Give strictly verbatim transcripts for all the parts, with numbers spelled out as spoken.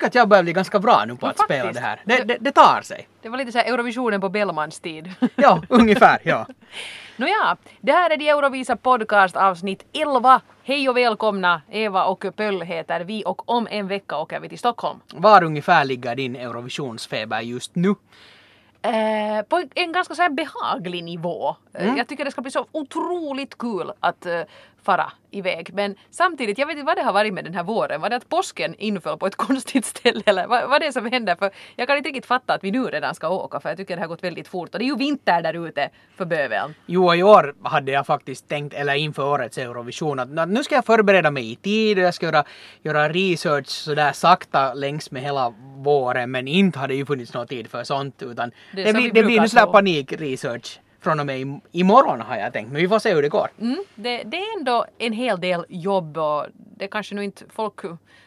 tycker att jag börjar bli ganska bra nu på Ja, att spela faktiskt. det här. Det, det, det tar sig. Det var lite så här Eurovisionen på Bellmans tid. Ja, ungefär, ja. Nåja, det här är de Eurovisa podcast avsnitt elva. Hej och välkomna, Eva och Pöll heter vi och om en vecka åker vi till Stockholm. Var ungefär ligger din Eurovisionsfeber just nu? Eh, på en ganska så här behaglig nivå. Mm. Jag tycker det ska bli så otroligt kul att uh, fara iväg. Men samtidigt, jag vet inte vad det har varit med den här våren. Var det att påsken inföll på ett konstigt ställe eller vad, vad det är som händer? För jag kan inte riktigt fatta att vi nu redan ska åka för jag tycker det har gått väldigt fort. Och det är ju vinter där ute för bövelen. Jo, i år hade jag faktiskt tänkt, eller inför årets Eurovision, att, att nu ska jag förbereda mig i tid och jag ska göra, göra research sådär sakta längs med hela våren. Men inte hade ju funnits någon tid för sånt utan det, det, blir, det blir nu sådär panikresearch. Från och med imorgon har jag tänkt, men vi får se hur det går. Mm, det, det är ändå en hel del jobb och det kanske nu inte folk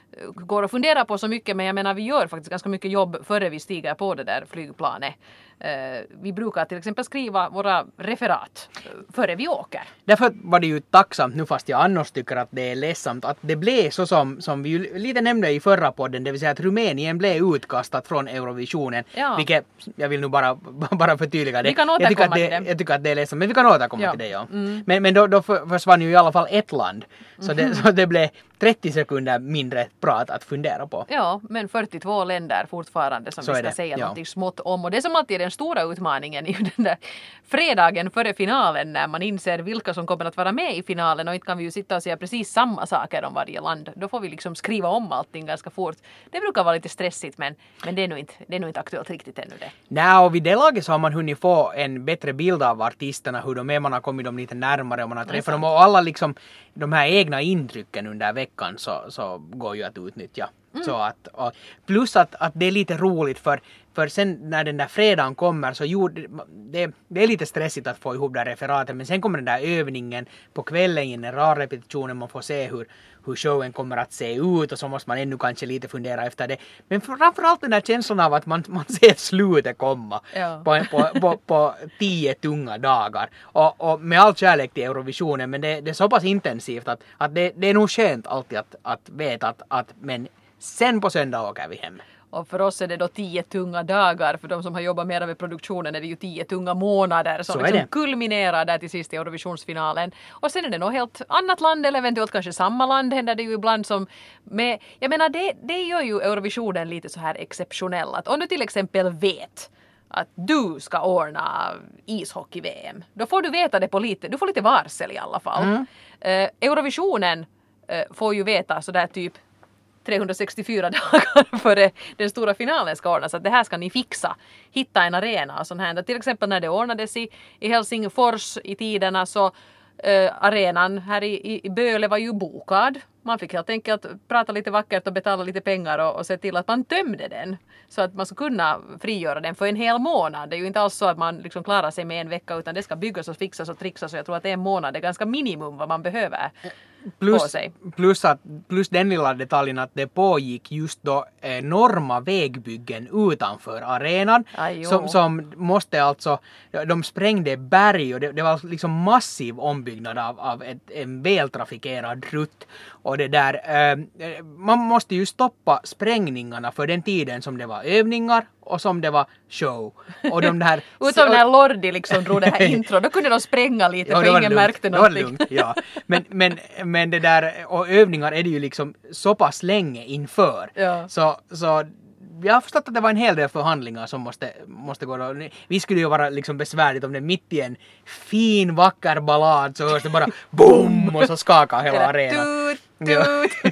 går och funderar på så mycket, men jag menar vi gör faktiskt ganska mycket jobb före vi stiger på det där flygplanet. Uh, vi brukar till exempel skriva våra referat före vi åker. Därför var det ju tacksamt nu fast jag annars tycker att det är ledsamt att det blev så som, som vi ju lite nämnde i förra podden, det vill säga att Rumänien blev utkastat från Eurovisionen. Ja. Vilket, jag vill nu bara, bara förtydliga det. Vi kan jag tycker, att det, det jag tycker att det är ledsamt, men vi kan återkomma ja. till det. Ja. Mm. Men, men då, då försvann ju i alla fall ett land. Så, mm. det, så det blev trettio sekunder mindre prat att fundera på. Ja, men fyrtiotvå länder fortfarande som så vi ska säga ja. Något smått om. Och det är som alltid den stora utmaningen i den där fredagen före finalen när man inser vilka som kommer att vara med i finalen och inte kan vi ju sitta och säga precis samma saker om varje land. Då får vi liksom skriva om allting ganska fort. Det brukar vara lite stressigt men, men det är nog inte, det är nog inte aktuellt riktigt ännu det. Nej, och vid det laget så har man hunnit få en bättre bild av artisterna, hur de är, man har kommit dem lite närmare och man har träffat dem och alla liksom de här egna intrycken under veckan så, så går ju att utnyttja. Mm. Så att, och plus att, att det är lite roligt för, för sen när den där fredagen kommer så jo, det, det är lite stressigt att få ihop det referatet men sen kommer den där övningen på kvällen i en rar repetition man får se hur, hur showen kommer att se ut och så måste man ännu kanske lite fundera efter det. Men framförallt den där känslan av att man, man ser slutet komma ja. på, på, på, på tio tunga dagar. Och, och med all kärlek till Eurovisionen men det, det är så pass intensivt att, att det, det är nog skönt alltid att, att veta att, att men sen på söndag åker vi hem. Och för oss är det då tio tunga dagar. För de som har jobbat mer med produktionen är det ju tio tunga månader som liksom kulminerar där till sist i Eurovisionsfinalen. Och sen är det nog helt annat land eller eventuellt kanske samma land händer det ju ibland som med, jag menar det, det gör ju Eurovisionen lite så här exceptionell. Att om du till exempel vet att du ska ordna ishockey-V M, då får du veta det på lite, du får lite varsel i alla fall. Mm. Uh, Eurovisionen uh, får ju veta sådär typ trehundrasextiofyra dagar före den stora finalen ska ordnas. Att det här ska ni fixa. Hitta en arena och sån här. Till exempel när det ordnades i, i Helsingfors i tiderna så äh, arenan här i, i Böle var ju bokad. Man fick helt enkelt prata lite vackert och betala lite pengar och, och se till att man tömde den. Så att man ska kunna frigöra den för en hel månad. Det är ju inte alls så att man liksom klarar sig med en vecka utan det ska byggas och fixas och trixas. Och jag tror att en månad är ganska minimum vad man behöver. Plus, plus, att, plus den lilla detaljen att det pågick just då enorma vägbyggen utanför arenan som, som måste alltså, de sprängde berg och det, det var liksom massiv ombyggnad av, av ett, en vältrafikerad rutt och det där, eh, man måste ju stoppa sprängningarna för den tiden som det var övningar och som det var show. Och de där... Utom när Lordi liksom drog det här intro, då kunde de spränga lite ja, för ingen lugnt. märkte någonting. Det var lugnt, ja. Men, men, men det där, och övningar är det ju liksom så pass länge inför. Ja. Så, så jag har förstått att det var en hel del förhandlingar som måste, måste gå då. Vi skulle ju vara liksom besvärligt om det mitt i en fin, vacker ballad så hörs det bara boom och så skakar hela arenan. Tut, tut.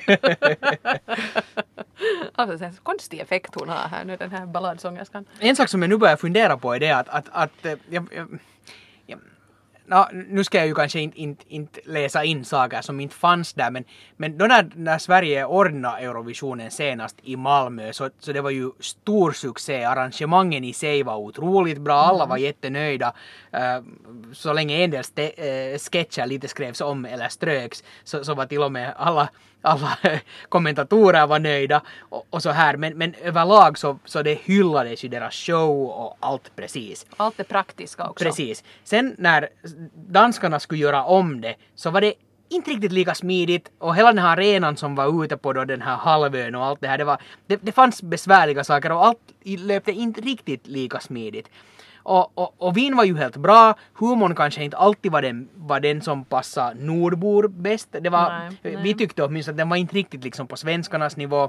Alltså en konstig effekt hon har här nu, den här balladsångerskan. En sak som jag nu börjar fundera på är det att, att, att jag, jag, jag, no, nu ska jag ju kanske inte, inte, inte läsa in saker som inte fanns där men, men då när, när Sverige ordnade Eurovisionen senast i Malmö så, så det var ju stor succé. Arrangemangen i sig var otroligt bra, alla var jättenöjda. Uh, så länge en del ste- uh, sketcher lite skrevs om eller ströks så, så var till och med alla alla kommentatorer var nöjda och, och så här. Men, men överlag så, så det hyllades ju deras show och allt precis. Allt det praktiska också. Precis. Sen när danskarna skulle göra om det så var det inte riktigt lika smidigt och hela den här arenan som var ute på då den här halvön och allt det här, det, var, det, det fanns besvärliga saker och allt löpte inte riktigt lika smidigt. Och, och, och Wien var ju helt bra, humorn kanske inte alltid var den, var den som passade nordbor bäst. Det var, nej, nej. Vi tyckte åtminstone att den var inte riktigt liksom på svenskarnas nivå.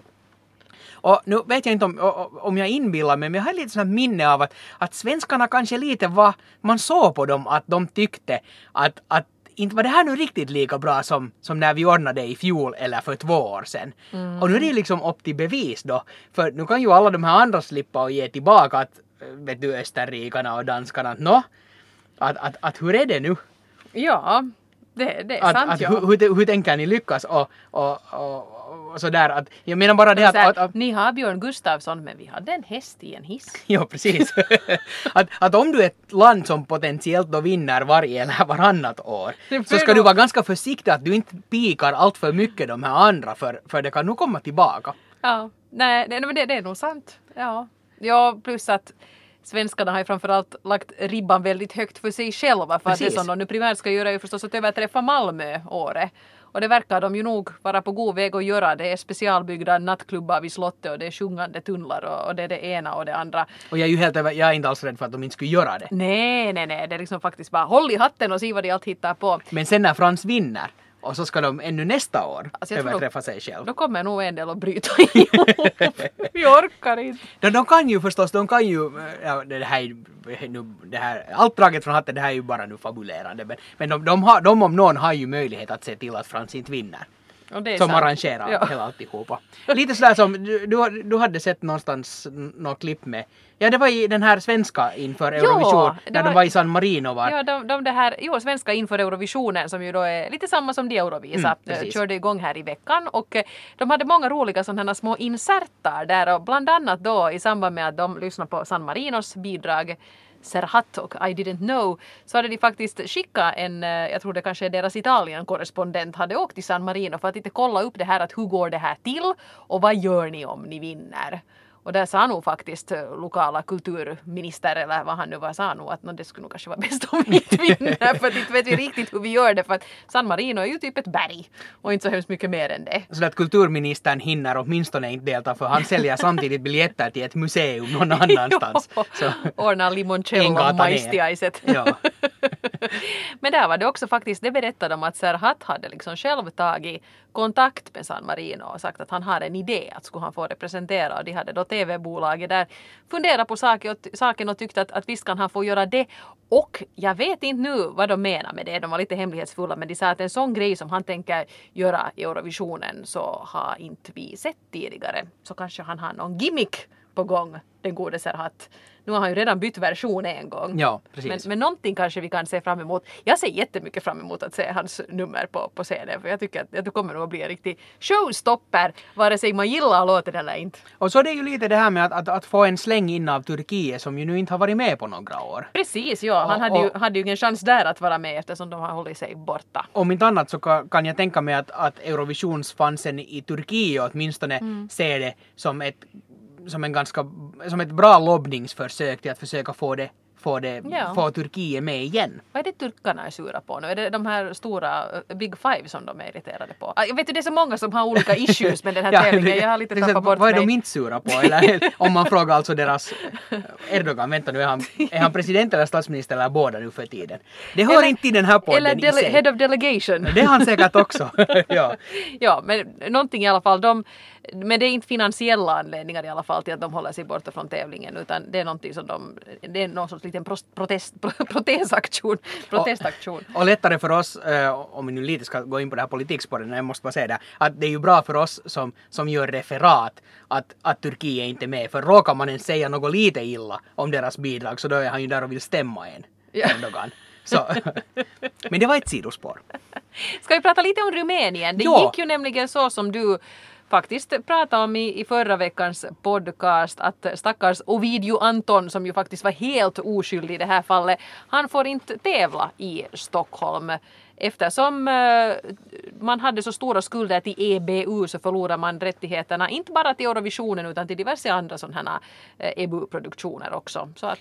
Och nu vet jag inte om, om jag inbillar mig, men jag har lite sån minne av att, att svenskarna kanske lite var, man såg på dem att de tyckte att, att inte var det här nu riktigt lika bra som, som när vi ordnade i fjol eller för två år sedan. Mm. Och nu är det liksom upp till bevis då. För nu kan ju alla de här andra slippa och ge tillbaka att, vet du, österrikarna och danskarna, att nå, att, att, att hur är det nu? Ja, det, det är att, sant. att, ja. hur, hur, hur tänker ni lyckas? Och, och, och, och sådär, att, jag menar bara det att, här, att, att... Ni har Björn Gustafsson, men vi hade en häst i en hiss. Ja, precis. att, att om du är ett land som potentiellt då vinner varje eller varannat år, så ska du vara ganska försiktig att du inte pikar allt för mycket de här andra, för, för det kan nog komma tillbaka. Ja, nej, nej men det, det är nog sant. Ja. Ja, plus att svenskarna har ju framförallt lagt ribban väldigt högt för sig själva. För att det som de nu primärt ska göra är ju förstås att överträffa Malmö året. Och det verkar de ju nog vara på god väg att göra. Det är specialbyggda nattklubbar vid slottet och det är sjungande tunnlar och, och det är det ena och det andra. Och jag är ju helt jag är inte alls rädd för att de inte skulle göra det. Nej, nej, nej. Det är liksom faktiskt bara håll i hatten och se vad de allt hittar på. Men sen när Frans vinner, och så ska de ännu nästa år alltså överträffa sig själv. Då kommer nog en del att bryta ihop. Vi orkar inte. De, de kan ju förstås, de kan ju, ja, det här, nu, det här, allt draget från hatten, det här är ju bara nu fabulerande. Men, men de, de, har, de om någon har ju möjlighet att se till att Frans inte vinner. Som sant. Arrangerar ja. Hela alltihopa. Lite sådär som, du, du, du hade sett någonstans något klipp med, ja det var i den här svenska inför Eurovision, jo, när var, de var i San Marino var. Ja, de, de det här, jo, svenska inför Eurovisionen som ju då är lite samma som de Eurovisa, mm, körde igång här i veckan och de hade många roliga sådana små inserter där och bland annat då i samband med att de lyssnade på San Marinos bidrag Serhat och I didn't know, så hade de faktiskt skickat en, jag tror det kanske är deras Italien-korrespondent, hade åkt till San Marino för att inte kolla upp det här att hur går det här till och vad gör ni om ni vinner. Och där sa nog faktiskt lokala kulturminister eller vad han nu var, sa nog att no, det skulle nog kanske vara bäst om vi inte vinner för att inte vet vi riktigt hur vi gör det för att San Marino är ju typ ett berg och inte så hemskt mycket mer än det. Så att kulturministern hinner åtminstone inte delta för han säljer samtidigt biljetter till ett museum någon annanstans. Så. Ordnar limoncello och majstiaiset. Ja. Men där var det också faktiskt, det berättade om att Serhat hade liksom själv tagit kontakt med San Marino och sagt att han har en idé att skulle han få representera och de hade då tv-bolaget där funderat på saken och, saken och tyckte att, att visst kan han få göra det och jag vet inte nu vad de menar med det, de var lite hemlighetsfulla men de sa att en sån grej som han tänker göra i Eurovisionen så har inte vi sett tidigare så kanske han har någon gimmick på gång, den gode Serhat. Nu har han ju redan bytt version en gång. Ja, precis. Men, men någonting kanske vi kan se fram emot. Jag ser jättemycket fram emot att se hans nummer på, på scenen. För jag tycker att, att det kommer nog att bli en riktig showstopper. Vare sig man gillar låten eller inte. Och så är det ju lite det här med att, att, att få en släng in av Turkiet som ju nu inte har varit med på några år. Precis, ja. Han och, hade, ju, hade ju ingen chans där att vara med eftersom de har hållit sig borta. Om inte annat så kan, kan jag tänka mig att, att Eurovisionsfansen i Turkiet åtminstone mm. ser det som ett som en ganska som ett bra lobbningsförsök till att försöka få det få det ja. få Turkiet med igen. Vad är det turkarna är sura på nu? Är det de här stora uh, Big Five som de är irriterade på? Jag vet ju det är så många som har olika issues med den här ja, tävlingen. Jag har lite tappat bort vad är mig. De inte sura på? Eller om man frågar alltså deras Erdogan, vänta nu, är han, är han president eller statsminister eller båda nu för tiden? Det hör eller, inte till den här podden eller dele- i sig. Head of delegation. Det är han säkert också. ja. ja, men någonting i alla fall. De, men det är inte finansiella anledningar i alla fall till att de håller sig borta från tävlingen utan det är någonting som de, det är någon sorts liten protest, protestaktion, protestaktion. Och, och lättare för oss, eh, om vi nu lite ska gå in på det här politikspåret, jag måste bara säga det, att det är ju bra för oss som, som gör referat att, att Turkiet är inte med, för råkar man ens säga något lite illa om deras bidrag så då är han ju där och vill stämma en. Ja. Erdogan. Så. Men det var ett sidospår. Ska vi prata lite om Rumänien? Det ja. gick ju nämligen så som du faktiskt pratade om i, i förra veckans podcast att stackars Ovidio Anton som ju faktiskt var helt oskyldig i det här fallet, han får inte tävla i Stockholm. Eftersom eh, man hade så stora skulder till E B U så förlorar man rättigheterna inte bara till Eurovisionen utan till diverse andra sådana här eh, E B U-produktioner också. Så att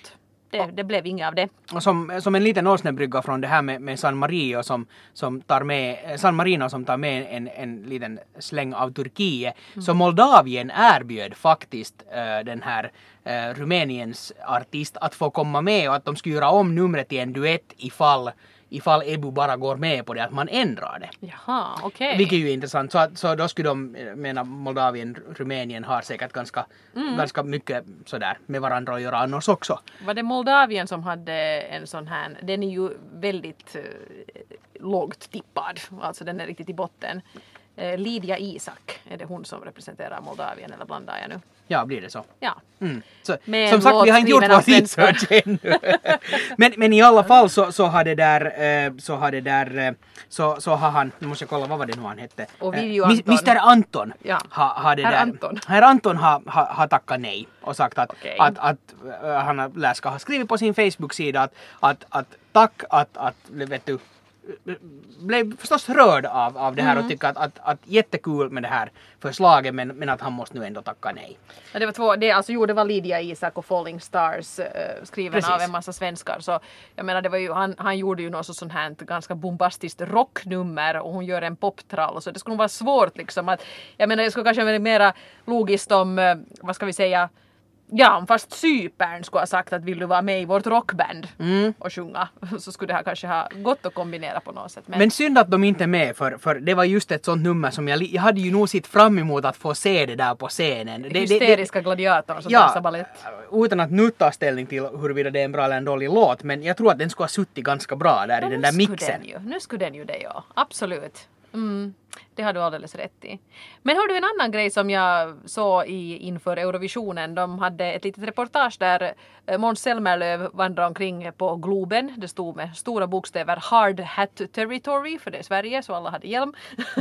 det, det blev inget av det. Som, som en liten åsnebrygga från det här med, med San Marino som, som tar med, San Marino som tar med en, en liten släng av Turkiet. Mm. Så Moldavien erbjöd faktiskt äh, den här äh, Rumäniens artist att få komma med och att de skulle göra om numret till en duett ifall ifall Ebu bara går med på det, att man ändrar det. Jaha, okej. Okay. Vilket är ju intressant. Så, att, så då skulle de, menar Moldavien, Rumänien har säkert ganska, mm. ganska mycket sådär med varandra att göra annars också. Var det Moldavien som hade en sån här, den är ju väldigt uh, lågt tippad, alltså den är riktigt i botten. Uh, Lydia Isak, är det hon som representerar Moldavien eller blandar jag nu? Ja, blir det så. Ja. Mm. Så som sagt, vi har inte gjort vår research ännu. men, men i alla fall så, så har det där, så har det där, så, så har han, nu måste jag kolla vad var det nu han hette. Och Vivio Anton. mister Anton. Ja. Ha, har det Herr där, Anton. Herr Anton har, har, har tackat nej och sagt att, okay. att, att, att han läska har skrivit på sin Facebook-sida att, att, att tack att, att vet du, blev förstås rörd av, av det här mm. och tycker att, att, att jättekul med det här förslaget men, men att han måste nu ändå tacka nej. Ja, det var två, det, alltså, jo, det var Lydia Isak och Falling Stars uh, skriven Precis. Av en massa svenskar så jag menar det var ju, han, han gjorde ju något sånt här ganska bombastiskt rocknummer och hon gör en poptrall så det skulle nog vara svårt liksom att, jag menar det skulle kanske vara mera logiskt om, uh, vad ska vi säga, ja, fast Cypern skulle ha sagt att vill du vara med i vårt rockband mm. och sjunga så skulle det här kanske ha gått att kombinera på något sätt. Men, men synd att de inte är med för, för det var just ett sånt nummer som jag, jag hade ju nog sitt fram emot att få se det där på scenen. Det, hysteriska det, det, gladiatorn som dansar ballett. Utan att nu ta ställning till huruvida det är en bra eller en dålig låt men jag tror att den skulle ha suttit ganska bra där ja, i den där mixen. Den ju, nu skulle den ju det, ja. Absolut. Mm. Det har du alldeles rätt i. Men har du en annan grej som jag såg i, inför Eurovisionen. De hade ett litet reportage där Måns Zelmerlöw vandrade omkring på Globen. Det stod med stora bokstäver Hard Hat Territory, för det är Sverige så alla hade hjälm.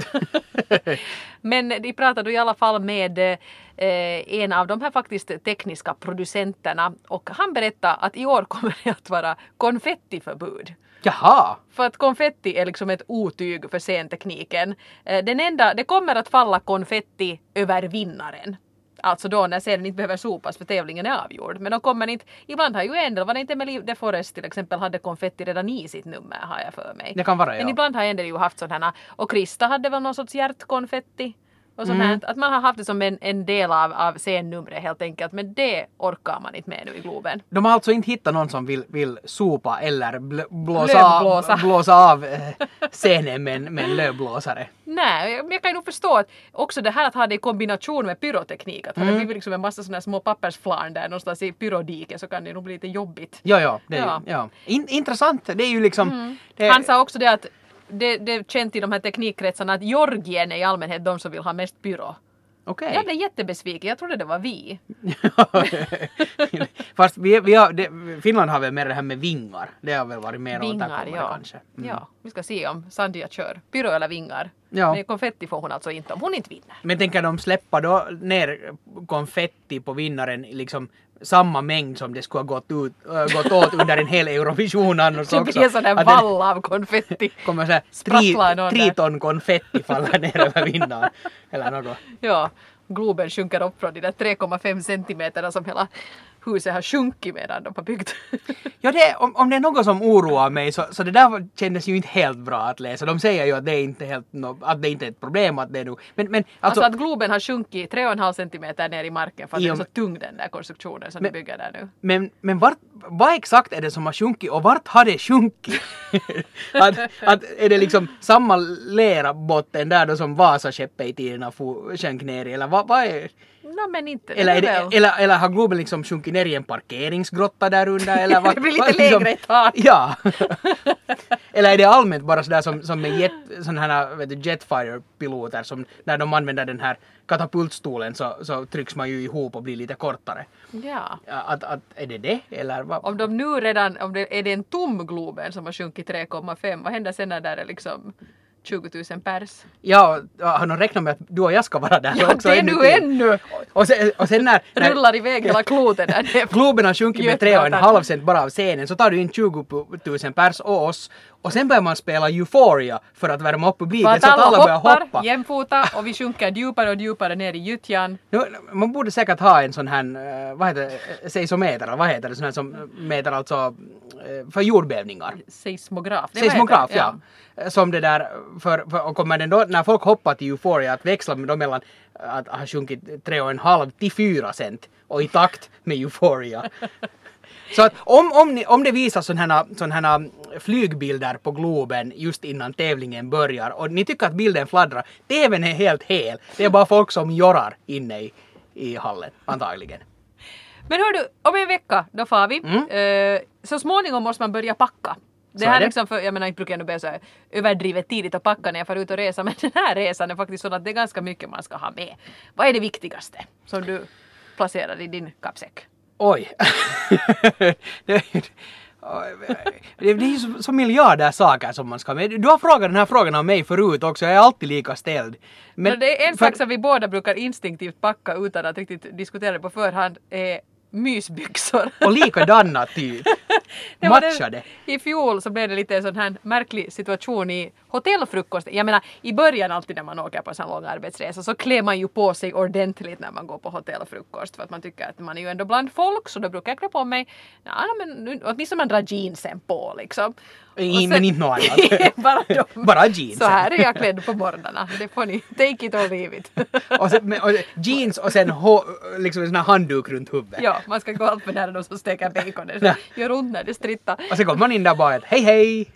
Men de pratade i alla fall med eh, en av de här faktiskt tekniska producenterna och han berättade att i år kommer det att vara konfettiförbud. Jaha! För att konfetti är liksom ett otyg för scentekniken. Den enda, det kommer att falla konfetti över vinnaren. Alltså då när scenen inte behöver sopas för tävlingen är avgjord. Men de kommer inte, ibland har ju en del, var det inte med Liv de Forest till exempel, hade konfetti redan i sitt nummer har jag för mig. Det kan vara, ja. Men ibland har en del ju haft sådana, och Krista hade väl någon sorts hjärtkonfetti. Och sånt mm. Att man har haft det som en, en del av, av scennumret helt enkelt. Men det orkar man inte med nu i Globen. De har alltså inte hittat någon som vill, vill sopa eller bl- blåsa, av, blåsa av eh, scenen med, med en lövblåsare. Nej, jag, jag kan ju nog förstå att också det här att ha det i kombination med pyroteknik. Att mm. det blir liksom en massa sådana små pappersflarn där någonstans i pyrodiken så kan det nog bli lite jobbigt. Ja, ja. Det är, ja. ja. In, intressant. Det är ju liksom... Mm. Det... Han sa också det att Det, det är känt i de här teknikkretsarna att Georgien är i allmänhet de som vill ha mest pyro. Okay. Jag blev jättebesviken. Jag trodde det var vi. Fast vi, vi har, det, Finland har väl mer det här med vingar. Det har väl varit mer vingar, återkommande ja. kanske. Mm. Ja, vi ska se om Sandia kör. Pyro eller vingar. Ja. Men konfetti får hon alltså inte om hon inte vinner. Men tänker de släppa då ner konfetti på vinnaren liksom samma mängd som det skulle ha gått, ut, äh, gått åt under en hel Eurovision annars också. Det blir en sån där vall av konfetti. Kommer så här tri, tri ton konfetti faller ner över vinnaren. Eller något. Ja, Globen sjunker upp från de där tre komma fem centimeterna som hela huset har sjunkit medan de har byggt. Ja, det, om, om det är något som oroar mig så, så det där kändes ju inte helt bra att läsa. De säger ju att det är inte helt no, att det inte är ett problem att det är nu. Men, men, alltså, alltså att Globen har sjunkit tre komma fem centimeter ner i marken för att i, det är så tung den där konstruktionen som men, de bygger där nu. Men, men vart, vad exakt är det som har sjunkit och vart har det sjunkit? att, att är det liksom samma lera botten där då som Vasaskeppet i tiderna sjönk ner i, eller vad, vad är... No, men inte. Eller, det, eller, eller har Globen liksom sjunkit ner i en parkeringsgrotta där under? Eller vad, det blir lite lägre liksom, ett tag. Ja. Eller är det allmänt bara sådär som, som med jet, sån här, vet du, Jetfire-piloter som när de använder den här katapultstolen så, så trycks man ju ihop och blir lite kortare. Ja. Att, att, är det det? Eller vad? Om de nu redan, om det är det en tom Globen som har sjunkit tre komma fem, vad händer sen när det är liksom tjugo tusen pers? Ja, har de räknat med att du och jag ska vara där ja, också? Ja, det är nu ännu! Och sen, och sen när... när rullar iväg hela kloten där. Globen har sjunkit med tre och en halv cent bara av scenen så tar du in tjugo tusen pers och oss Och sen börjar man spela Euphoria för att värma upp publiken så att alla börjar hoppar, hoppa. jämfota och vi sjunker djupare och djupare ner i gyttjan. Man borde säkert ha en sån här, vad heter det, seismometer, vad heter det, sån här som mäter alltså för jordbävningar. Seismograf. Seismograf, ja. ja. Som det där, för, för, och kommer den då, när folk hoppar till Euphoria, att växla med dem mellan att ha sjunkit tre och en halv till fyra cent och i takt med Euphoria. Så att om, om, ni, om det visas sådana här, sån här flygbilder på Globen just innan tävlingen börjar och ni tycker att bilden fladdrar, T V:n är helt hel. Det är bara folk som jorrar inne i, i hallen, antagligen. Men hör du, om en vecka då far vi. Mm. Uh, så småningom måste man börja packa. Det Så här är det. liksom för, jag menar inte brukar jag nu bli så här överdrivet tidigt att packa när jag får ut och resa, men den här resan är faktiskt så att det är ganska mycket man ska ha med. Vad är det viktigaste som du placerar i din kappsäck? Oj. det, det är ju så, så miljarder saker som man ska ha med. Du har frågat den här frågan av mig förut också, jag är alltid lika ställd. Men, men det är en för... sak som vi båda brukar instinktivt packa utan att riktigt diskutera det på förhand, är mysbyxor. Och likadana typ. Matchade. I fjol så blev det lite en sån här märklig situation i hotellfrukost. Jag menar, i början alltid när man åker på en sån lång arbetsresa så klär man ju på sig ordentligt när man går på hotellfrukost. För att man tycker att man är ju ändå bland folk, så då brukar jag klä på mig, ja men åtminstone man drar jeansen på liksom. I, sen, men inte något annat. bara, de, bara jeans. Så här är jag klädd på morgnarna. Det får ni, take it or leave it. och, sen, och jeans och sen ho, liksom en sån här handduk runt huvudet. Ja, man ska gå allt för nära de som steker bacon. Gör ont när det strittar. Och sen kommer man in där bara att hej hej.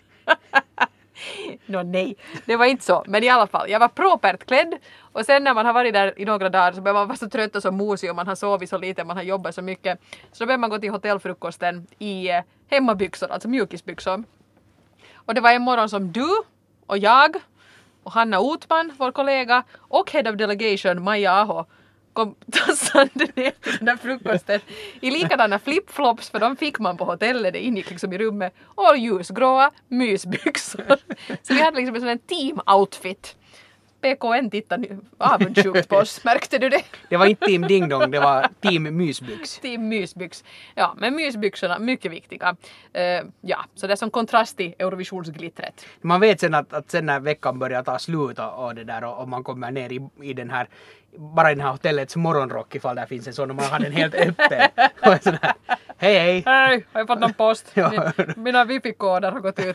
Nå nej, det var inte så. Men i alla fall, jag var propert klädd. Och sen när man har varit där i några dagar så börjar man vara så trött och så mosig och man har sovit så lite, man har jobbat så mycket. Så då börjar man gå till hotellfrukosten i eh, hemmabyxor, alltså mjukisbyxor. Och det var en morgon som du och jag och Hanna Otman, vår kollega, och Head of Delegation Maja Aho kom tassande ner till den där frukosten i likadana flipflops, för de fick man på hotellet, det ingick liksom i rummet, och ljusgråa mysbyxor. Så vi hade liksom en sån här team-outfit. P K N tittade avundsjukt på oss, märkte du det? Det var inte Team Ding Dong, det var Team Mysbyx. Team Mysbyx. Ja, men mysbyxorna, mycket viktiga. Uh, ja, så det är som kontrast till Eurovisionsglittret. Man vet sen att, att sen när veckan börjar ta slut och, och det där och, och man kommer ner i, i den här, bara i den här hotellets morgonrock ifall där finns en sån och man har den helt öppen. Och sån här, hej hej. Hej, har jag fått någon post? Ja. Min, mina wifi-koder har gått ut.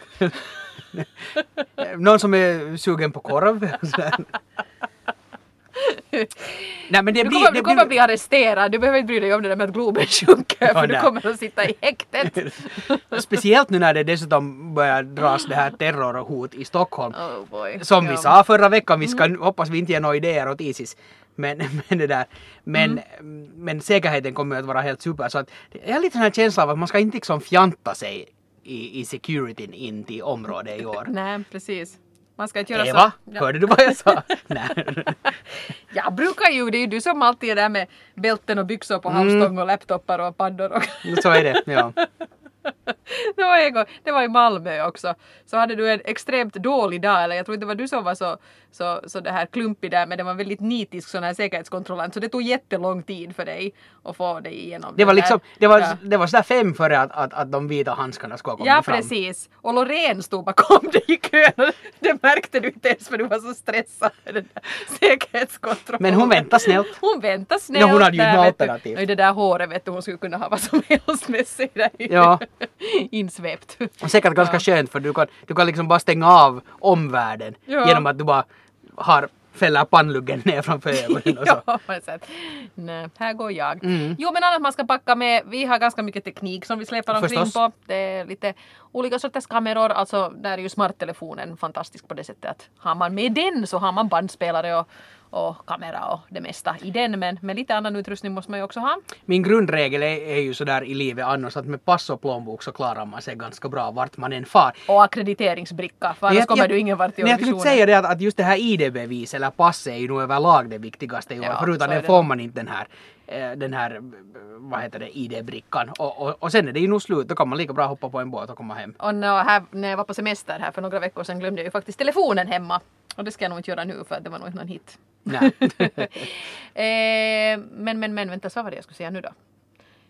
Någon som är sugen på korv. Nej, men det du blir, kommer, det du kommer blir... bli arresterad. Du behöver inte bry dig om det där med att Globen sjunker, för oh, du kommer att sitta i häktet. Speciellt nu när det dessutom börjar dras det här terrorhot i Stockholm. Oh boy. Som ja. vi sa förra veckan, vi ska, mm. hoppas vi inte ger några idéer åt Isis. Men, men, det där. Men, mm. men säkerheten kommer att vara helt super. Så att, jag har lite sån här känsla av att man ska inte liksom fjanta sig i, i securityn in till området i år. Nej, precis. Man ska inte göra Eva, så. Ja. hörde du vad jag sa? Nej. Jag brukar ju, det är ju du som alltid är där med bälten och byxor på halvstång och laptopar och paddor. Och så är det, ja. det, var en gång, det var i Malmö också. Så hade du en extremt dålig dag, eller jag tror inte det var du som var så, så, så det här klumpig där, men det var väldigt nitisk sån här säkerhetskontrollant, så det tog jättelång tid för dig att få dig igenom det var där. liksom, det var, ja. det var sådär fem före att, att, att de vita handskarna skulle komma ja, fram. Ja, precis. Och Loreen stod bakom dig i kön och det märkte du inte ens för du var så stressad med den där säkerhetskontrollen. Men hon väntade snällt. Hon väntade snällt. No, hon hade ju där, något alternativ. Och i det där håret vet du, hon skulle kunna ha vad som helst med sig där ja. insvept. Och säkert ganska ja. skönt, för du kan, du kan liksom bara stänga av omvärlden ja. genom att du bara har fäller pannluggen ner framför ögonen och så. ja, men så att, nej, här går jag. Mm. Jo, men annat man ska packa med, vi har ganska mycket teknik som vi släpar omkring Förstås. på. Det är lite olika sorters kameror, alltså där är ju smarttelefonen fantastisk på det sättet att har man med den så har man bandspelare och och kamera och det mesta i den, men med lite annan utrustning måste man ju också ha. Min grundregel är, är ju sådär i livet annars att med pass och plånbok så klarar man sig ganska bra vart man än far. Och akkrediteringsbricka, för annars jag, kommer jag, du ingen vart i auditionen. Jag skulle säga det att, att just det här I D-bevis eller pass är ju nog överlag det viktigaste i år. Ja, förutom det får man inte den här, den här vad heter det, I D-brickan. Och, och, och sen är det ju nog slut, då kan man lika bra hoppa på en båt och komma hem. Och när, här, när jag var på semester här för några veckor sedan glömde jag ju faktiskt telefonen hemma. Och det ska jag nog inte göra nu för det var nog inte någon hit. Nej. eh, men, men, men, vänta, så var det jag skulle säga nu då.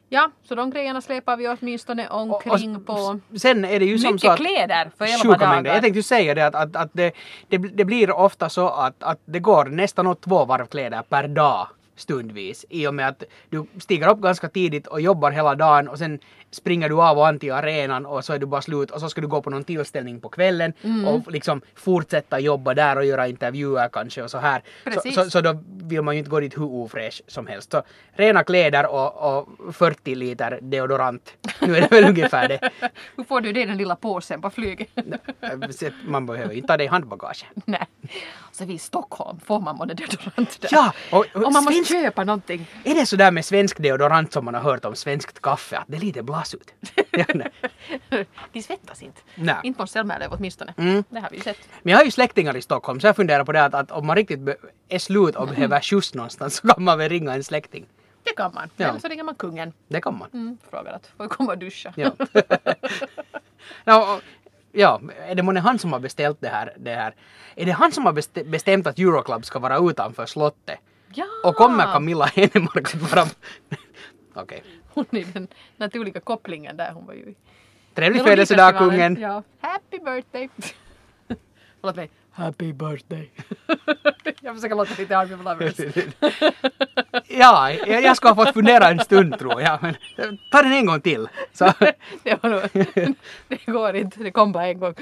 Ja, så de grejerna släpar vi åtminstone omkring och, på. och sen är det ju som så att kläder för elva dagar. Mängder. Jag tänkte ju säga det att, att, att det, det, det blir ofta så att, att det går nästan åt två varv kläder per dag stundvis. I och med att du stiger upp ganska tidigt och jobbar hela dagen och sen springer du av och an till arenan och så är du bara slut och så ska du gå på någon tillställning på kvällen mm. och liksom fortsätta jobba där och göra intervjuer kanske och så här. Så, så, så då vill man ju inte gå dit hur ofräsch som helst. Så rena kläder och, och fyrtio liter deodorant. Nu är det väl ungefär det. Hur får du det den lilla påsen på flyget? Man behöver inte ta det i handbagage. Nej. Så vi i Stockholm får man både deodorant där. Ja! Och, och, och man svensk... måste köpa någonting. Är det så där med svensk deodorant som man har hört om svenskt kaffe? Att det är lite blas ut. De svettas inte. Nej. Inte på Ställmärlev åtminstone. Mm. Det har vi ju sett. Men jag har ju släktingar i Stockholm så jag funderar på det att, att om man riktigt be- är slut och mm. behöver skjuts någonstans så kan man väl ringa en släkting. Det kan man. Ja. Eller så ringer man kungen. Det kan man. Mm, frågar att får jag komma och duscha. Ja. ja, och, ja, är det månne han som har beställt det här, det här? Är det han som har bestä- bestämt att Euroclub ska vara utanför slottet? Ja! Och kommer Camilla Henemark att vara... Okej. Okay. Hon är den naturliga kopplingen där. Hon var ju... Trevlig födelsedag, kungen! Ja. Happy birthday! Förlåt mig. Happy birthday! Jag försöker låta lite Army Lovers. Ja, jag, jag ska ha fått fundera en stund tror jag. Men ta den en gång till. Så. Det, var nog, det går inte, det kom bara en gång.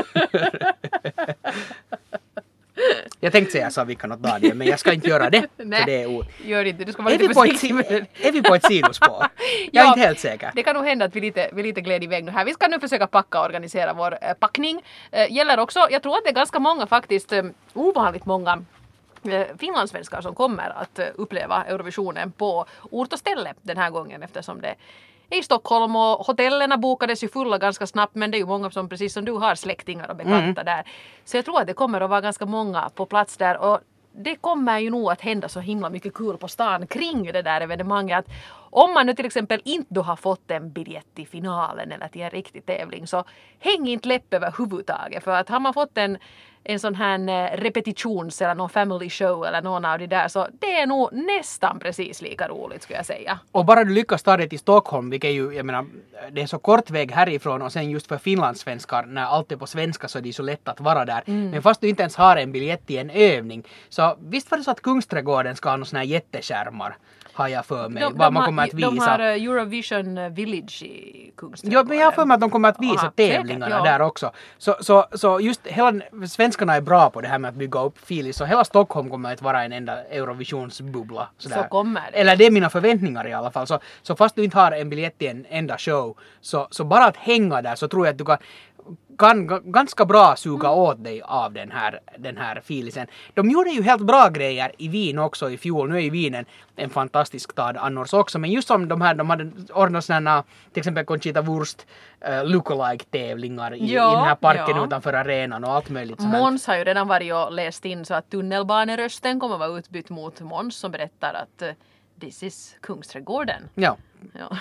Jag tänkte säga så vi kan något dagen, men jag ska inte göra det. Nej, för det är o- gör inte. Du ska vara är, lite vi på försiktig med ett, är vi på ett sidospår? Jag är ja, inte helt säker. Det kan nog hända att vi lite, vi lite gled iväg nu här. Vi ska nu försöka packa och organisera vår äh, packning. Äh, gäller också, jag tror att det är ganska många faktiskt, äh, ovanligt många äh, finlandssvenskar som kommer att äh, uppleva Eurovisionen på ort och ställe den här gången eftersom det i Stockholm och hotellerna bokades ju fulla ganska snabbt men det är ju många som precis som du har släktingar och bekanta mm. där. Så jag tror att det kommer att vara ganska många på plats där och det kommer ju nog att hända så himla mycket kul på stan kring det där evenemanget att om man nu till exempel inte har fått en biljett till finalen eller till en riktig tävling så häng inte läpp överhuvudtaget för att har man fått en en sån här repetitions eller någon family show eller någon av de där så det är nog nästan precis lika roligt skulle jag säga. Och bara du lyckas ta det till Stockholm, vilket ju, jag menar, det är så kort väg härifrån och sen just för finlandssvenskar när allt är på svenska så är det så lätt att vara där. Mm. Men fast du inte ens har en biljett till en övning så visst var det så att Kungsträdgården ska ha några såna här jätteskärmar har jag för mig, de, vad de man har, kommer att visa. De har Eurovision Village i Kungsträdgården. Ja, men jag har för mig att de kommer att visa Aha, tävlingarna säkert, ja. Där också. Så, så, så just hela, svenskarna är bra på det här med att bygga upp filis så hela Stockholm kommer att vara en enda Eurovisionsbubbla. Sådär. Så kommer det. Eller det är mina förväntningar i alla fall. Så, så fast du inte har en biljett till en enda show så, så bara att hänga där så tror jag att du kan kan g- ganska bra suga mm. åt dig av den här, den här filisen. De gjorde ju helt bra grejer i Wien också i fjol. Nu är ju Wien en, en fantastisk stad annars också. Men just som de här, de hade ordnat sådana, till exempel Conchita Wurst uh, lookalike-tävlingar i, ja, i den här parken ja. Utanför arenan och allt möjligt. Måns har ju redan varit och läst in så att tunnelbanerösten kommer vara utbytt mot Måns som berättar att uh, this is Kungsträdgården. Ja. Ja.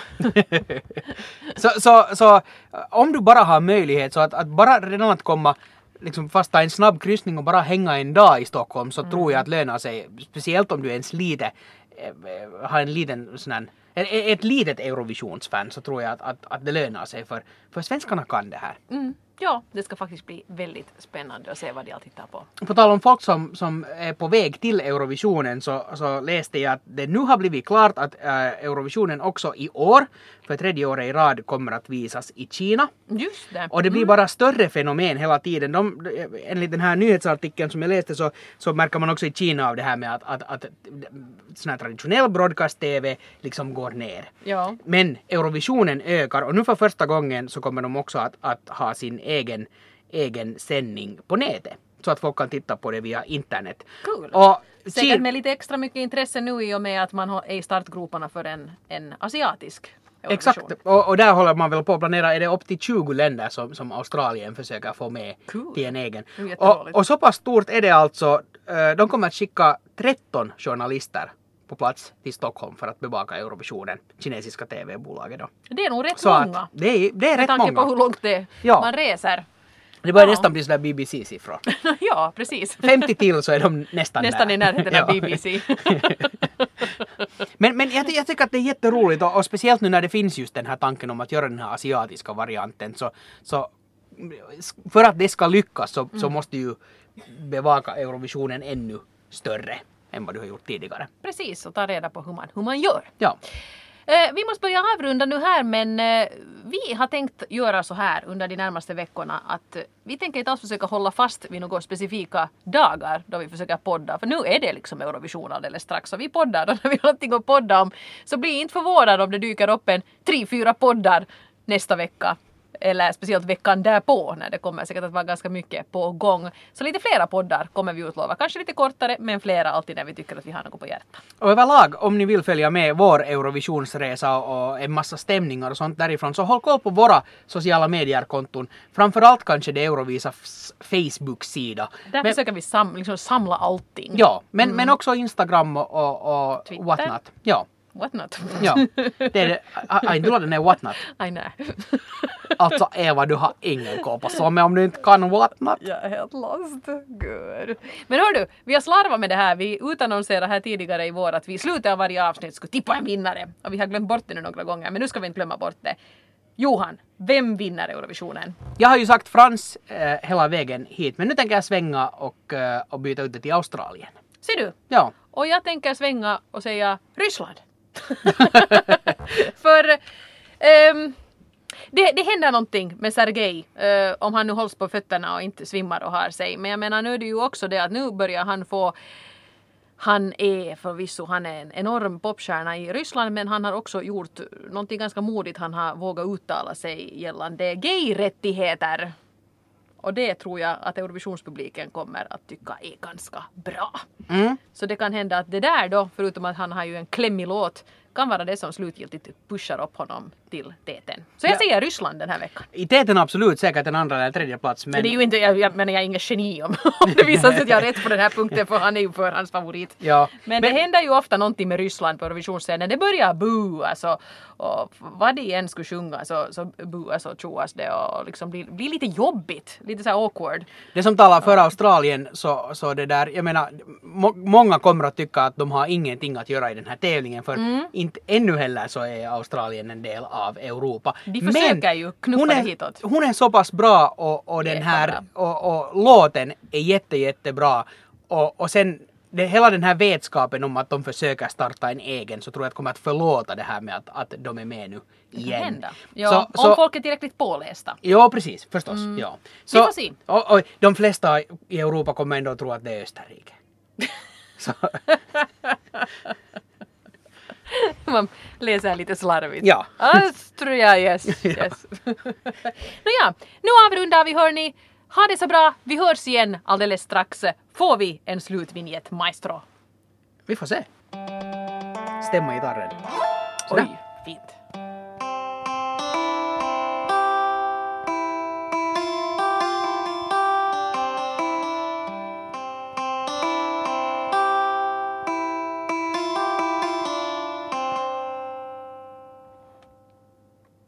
så, så, så om du bara har möjlighet så att, att bara redan att komma liksom fast ta en snabb kryssning och bara hänga en dag i Stockholm så mm. tror jag att lönar sig speciellt om du är ens lite äh, har en liten sån här, ett, ett litet Eurovisionsfan så tror jag att, att, att det lönar sig för, för svenskarna kan det här. Mm. Ja, det ska faktiskt bli väldigt spännande att se vad de alltid tittar på. På tal om folk som, som är på väg till Eurovisionen så, så läste jag att det nu har blivit klart att äh, Eurovisionen också i år, för tredje året i rad, kommer att visas i Kina. Just det. Och det blir mm. bara större fenomen hela tiden. De, enligt den här nyhetsartikeln som jag läste så, så märker man också i Kina av det här med att, att, att sån här traditionell broadcast-tv liksom går ner. Ja. Men Eurovisionen ökar och nu för första gången så kommer de också att, att ha sin egen, egen sändning på nätet. Så att folk kan titta på det via internet. Cool. Och säkert med lite extra mycket intresse nu i och med att man är i startgroparna för en, en asiatisk Eurovision. Exakt, och, och där håller man väl på att planera, är det upp till tjugo länder som, som Australien försöker få med cool. till en egen. Och, och så pass stort är det alltså, de kommer att skicka tretton journalister på plats till Stockholm för att bevaka Eurovisionen, kinesiska tv-bolaget då. Det är nog rätt så många. Det är, det är rätt många. Med tanke på hur långt det ja. man reser. Det börjar ja. nästan bli sådär B B C-siffror. Ja, precis. femtio till så är de nästan Nästan där. i närheten av ja. B B C. men men jag, jag tycker att det är jätteroligt och, och speciellt nu när det finns just den här tanken om att göra den här asiatiska varianten så, så för att det ska lyckas så, mm. så måste ju bevaka Eurovisionen ännu större än vad du har gjort tidigare. Precis, och ta reda på hur man, hur man gör. Ja. Eh, vi måste börja avrunda nu här, men eh, vi har tänkt göra så här under de närmaste veckorna att eh, vi tänker inte alls försöka hålla fast vid några specifika dagar då vi försöker podda, för nu är det liksom Eurovision alldeles strax, så vi poddar och när vi har någonting att podda om så bli inte förvånad om det dyker upp en tre, fyra poddar nästa vecka. Eller speciellt veckan därpå när det kommer säkert att vara ganska mycket på gång. Så lite flera poddar kommer vi utlova. Kanske lite kortare men flera alltid när vi tycker att vi har något på hjärtat. Och överlag om ni vill följa med vår Eurovisionsresa och en massa stämningar och sånt därifrån så håll koll på våra sociala medier-konton. Framförallt kanske det Eurovisas Facebook-sida. Där men, försöker vi sam, liksom samla allting. Ja, men, mm. men också Instagram och, och, och whatnot. Ja. Whatnot? Ja, det är det. Ai, tulla den är whatnot. Ai nej. Alltså Eva, du har ingen koll på som om du inte kan whatnot. Jag är helt lost. Good. Men hör du, vi har slarvat med det här. Vi utannonserade här tidigare i vår att vi i slutet av varje avsnitt skulle tippa en vinnare. Och vi har glömt bort det nu några gånger, men nu ska vi inte glömma bort det. Johan, vem vinner Eurovisionen? Jag har ju sagt Frans eh, hela vägen hit, men nu tänker jag svänga och, eh, och byta ut det till Australien. Ser du? Ja. Och jag tänker svänga och säga Ryssland. För um, det, det händer någonting med Sergej uh, om han nu hålls på fötterna och inte svimmar och har sig. Men jag menar nu är det ju också det att nu börjar han få, han är förvisso, han är en enorm popstjärna i Ryssland, men han har också gjort någonting ganska modigt. Han har vågat uttala sig gällande gay-rättigheter. Och det tror jag att Eurovisionspubliken kommer att tycka är ganska bra. Mm. Så det kan hända att det där då, förutom att han har ju en klämmig låt, kan vara det som slutgiltigt pushar upp honom till täten. Så jag ja. säger Ryssland den här veckan. I täten absolut, säkert en andra eller tredje plats. Men... Det är ju inte, jag, jag menar jag är ingen geni om, om det visar sig att jag har rätt på den här punkten, för han är ju för hans favorit. Ja. Men, men det händer ju ofta någonting med Ryssland på Eurovisionsscenen. Det börjar boo, alltså, och vad det än skulle sjunga så, så booas och tjoas det och liksom blir, blir lite jobbigt, lite så här awkward. Det som talar för Australien så, så det där, jag menar, må, många kommer att tycka att de har ingenting att göra i den här tävlingen, för mm. inte ännu heller så är Australien en del av Europa. De försöker men ju knuffa hon är, det hitåt. Hon är så pass bra och, och den här och, och låten är jätte jättebra och, och sen det, hela den här vetskapen om att de försöker starta en egen, så tror jag att kommer att förlåta det här med att, att de är med nu igen. Ja, så, om så, folk är tillräckligt pålästa. Ja, precis, förstås. Mm. Ja. Så, vi får se. Och, och, de flesta i Europa kommer ändå att tro att det är Österrike. Så. Man läser lite slarvigt. Ja. Austria, yes. yes. Nåja, nu avrundar vi, hörni. Ha det så bra. Vi hörs igen alldeles strax. Får vi en slutvinjett, maestro? Vi får se. Stämma gitarren. Oj, fint.